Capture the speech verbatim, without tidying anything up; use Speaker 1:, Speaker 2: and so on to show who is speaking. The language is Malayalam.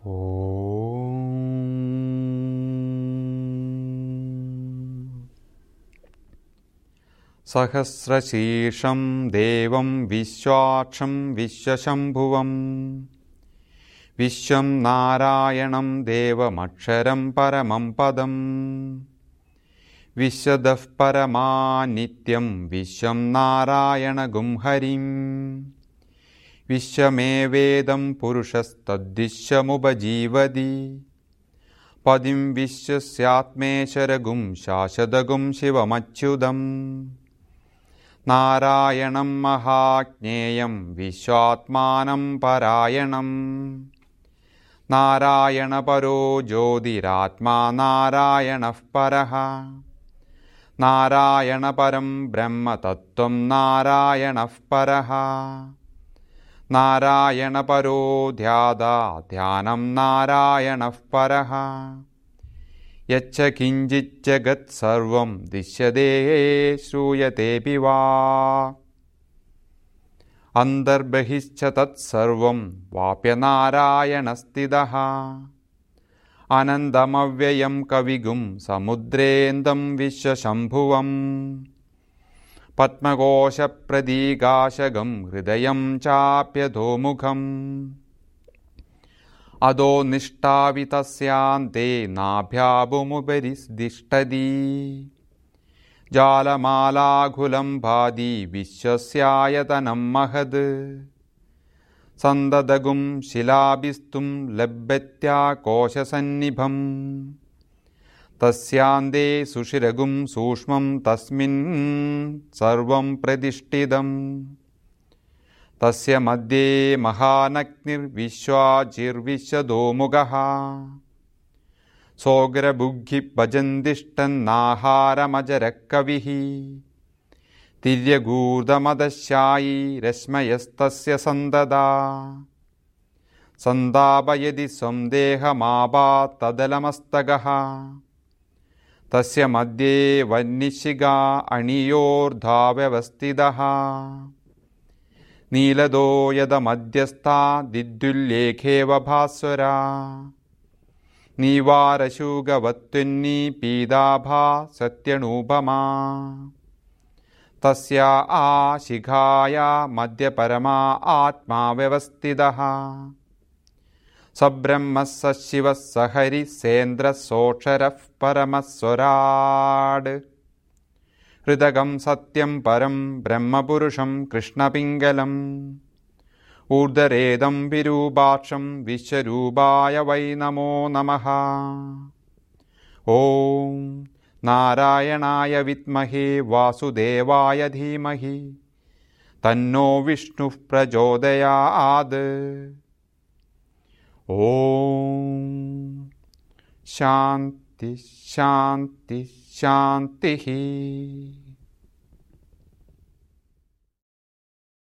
Speaker 1: ഓം സഹസ്രശീർഷം ദേവം വിശ്വാക്ഷം വിശ്വശംഭുവം വിശ്വം നാരായണം ദേവമക്ഷരം പരമം പദം വിശ്വദഃ പരമാ നിത്യം വിശ്വം നാരായണഗും ഹരിം വിശ്വമേവേദം പുരുഷസ്തദ്വിശ്വമുപജീവതി പദിം വിശ്വസ്യാത്മേശ്വരഗും ശാശ്വതഗും ശിവമച്യുതം നാരായണം മഹാജ്ഞേയം വിശ്വാത്മാനം പരായണം നാരായണപരോ ജ്യോതിരാത്മാ നാരായണഃ പരഃ നാരായണപരം ബ്രഹ്മതത്ത്വം നാരായണഃ പരഃ നാരായണപരോ ധ്യാതാ ധ്യാനം നാരായണഃ പരഃ യച്ഛ കിഞ്ചിത് ജഗത് സർവം ദൃശ്യതേ ശ്രൂയതേപി വാ അന്തർബഹിശ്ച തത്സർവം വാപ്യനാരായണസ്ഥിതഃ അനന്തമവ്യയം കവിഗും സമുദ്രേന്ദം വിശ്വശംഭുവം പത്മകോശപ്രതീകാശകം ഹൃദയം ചാപ്യധോമുഖം അധോ നിഷ്ഠാവിതസ്യാന്തേ നാഭ്യാഭുമുപരി ദിഷ്ടതി ജാലമാലാഘുലം ഭാതി വിശ്വസ്യായതനം മഹത് സന്തതഗും ശിലാഭിസ്തും ലഭ്യത്യാകോശസന്നിഭം തസ്യാന്തേ സുഷിരഗും സൂക്ഷ്മം തസ്മിൻ സർവം പ്രതിഷ്ഠിതം തസ്യ മധ്യേ മഹാനഗ്നിർവിശ്വാചിർവിശ്വദോമുഖഃ സോഗ്രബുഗ്ഗി ഭജന്തിഷ്ഠന്നാഹാരമജരക്കവിഃ തിര്യഗൂർധമദശായി രശ്മയസ്തസ്യ സന്തതാ സന്താപയതി സ്വം ദേഹമാപാത്തദലമസ്തകഃ തസ്യ മധ്യേ വഹ്നിശിഖാ അണിയോർധാവ്യവസ്ഥിതഃ നീലദോ യദമധ്യസ്ഥാ ദിദ്യുല്ലേഖേവ ഭാസ്വരാ നീവാരശൂകവത്വന്നി പീതാഭാ സത്യണൂപമാ തസ്യാ ആ ശിഖായാ മധ്യപരമാ ആത്മാ വ്യവസ്ഥിതഃ സബ്രഹ്മ സശിവ സഹരി സേന്ദ്ര സോക്ഷരഃ പരമസ്വരാട് ഹൃദകം സത്യം പരം ബ്രഹ്മപുരുഷം കൃഷ്ണപിംഗലം ഊർധരേദം വിരൂപാക്ഷം വിശ്വരൂപായ വൈ നമോ നമഃ. ഓം നാരായണായ വിദ്മഹേ വാസുദേവായ ധീമഹി തന്നോ വിഷ്ണുഃ പ്രചോദയാത്. ഓം ശാന്തി ശാന്തി ശാന്തി.